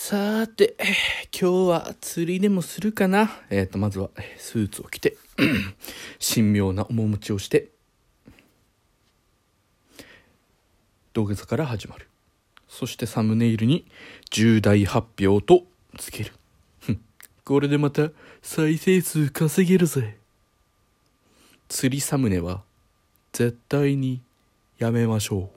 さーて、今日は釣りでもするかな。まずはスーツを着て神妙な面持ちをして土下座から始まる。そしてサムネイルに重大発表とつける。これでまた再生数稼げるぜ。釣りサムネは絶対にやめましょう。